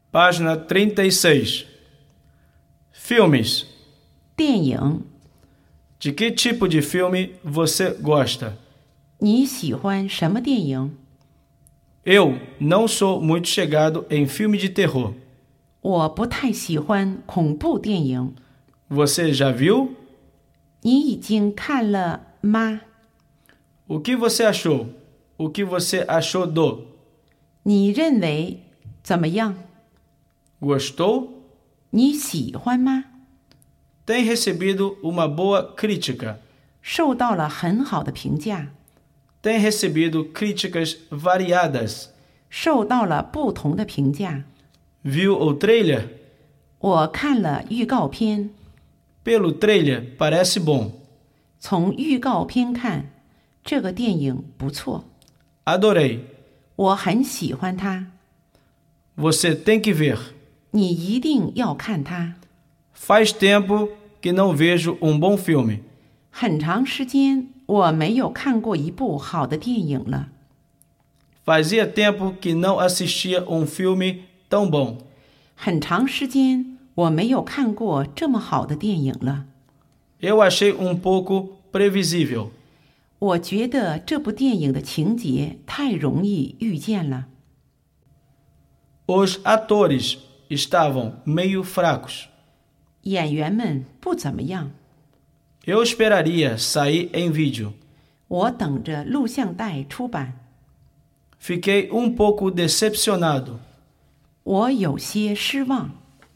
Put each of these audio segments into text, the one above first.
Página 36. Filmes. 电影， De que tipo de filme você gosta? 你喜欢什么电影？ Eu não sou muito chegado em filme de terror. 我不太喜欢恐怖电影。 Você já viu? 你已经看了吗？ O que você achou? O que você achou do? 你认为怎么样？ Gostou? 你喜欢吗？ Tem recebido uma boa crítica. 受到了很好的评价， Tem recebido críticas variadas. 受到了不同的评价。 Viu o trailer? 我看了预告片， Pelo trailer, parece bom. 从预告片看，这个电影不错， Adorei. 我很喜欢它。 Você tem que ver. 你一定要看它。 Faz tempo que não vejo bom filme. 很长时间我没有看过一部好的电影了， Fazia tempo que não assistia filme tão bom. 很长时间我没有看过这么好的电影了。 Eu achei pouco previsível. 我觉得这部电影的情节太容易预见了。 Os atores estavam meio fracos. 演员们不怎么样， Eu esperaria sair em vídeo. 我等着录像带出版。 Fiquei pouco decepcionado. 我有些失望，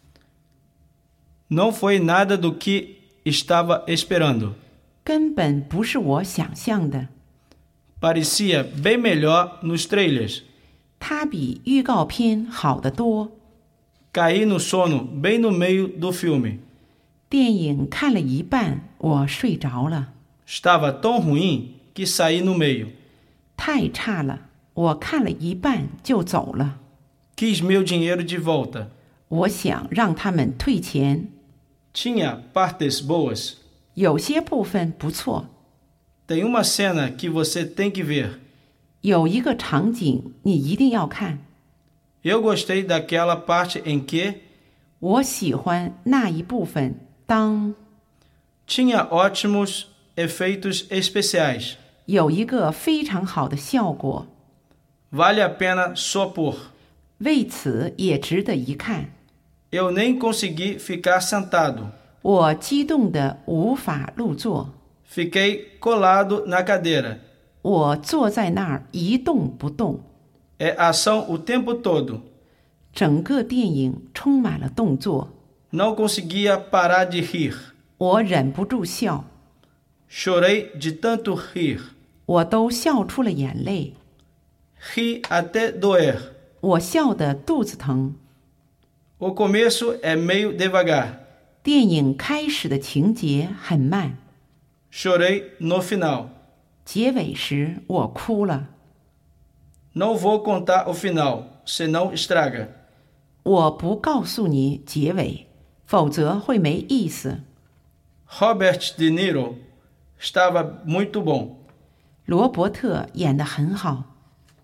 Não foi nada do que estava esperando. 根本不是我想象的。 Parecia bem melhor nos trailers. 它比预告片好得多。 Caí no sono bem no meio do filme. 电影看了一半，我睡着了， Estava tão ruim que saí no meio. 太差了，我看了一半就走了。 Quis meu dinheiro de volta. 我想让他们退钱， Tinha partes boas. 有些部分不错， Tem uma cena que você tem que ver. 有一个场景你一定要看。 Eu gostei daquela parte em que 我喜欢那一部分，当 tinha ótimos efeitos especiais. 有一个非常好的效果， Vale a pena só por. 为此也值得一看。 Eu nem consegui ficar sentado. 我激动得无法入座， Fiquei colado na cadeira. 我坐在那儿一动不动。 É ação o tempo todo. 整个电影充满了动作， Não conseguia parar de rir. 我忍不住笑， Chorei de tanto rir. 我都笑出了眼泪， Ri até doer. 我笑得肚子疼。 O começo é meio devagar. 电影开始的情节很慢， Chorei no final. 结尾时我哭了。 Não vou contar o final, senão estraga. 我不告诉你结尾，否则会没意思。 Robert De Niro estava muito bom. 罗伯特演得很好，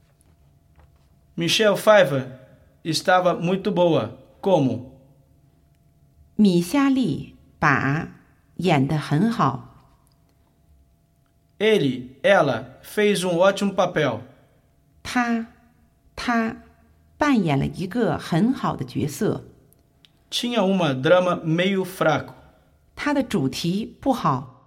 Michelle Pfeiffer estava muito boa. Como? 米夏利把演得很好， Ela fez ótimo papel. 他扮演了一个很好的角色。 Tinha drama meio fraco. 他的主题不好。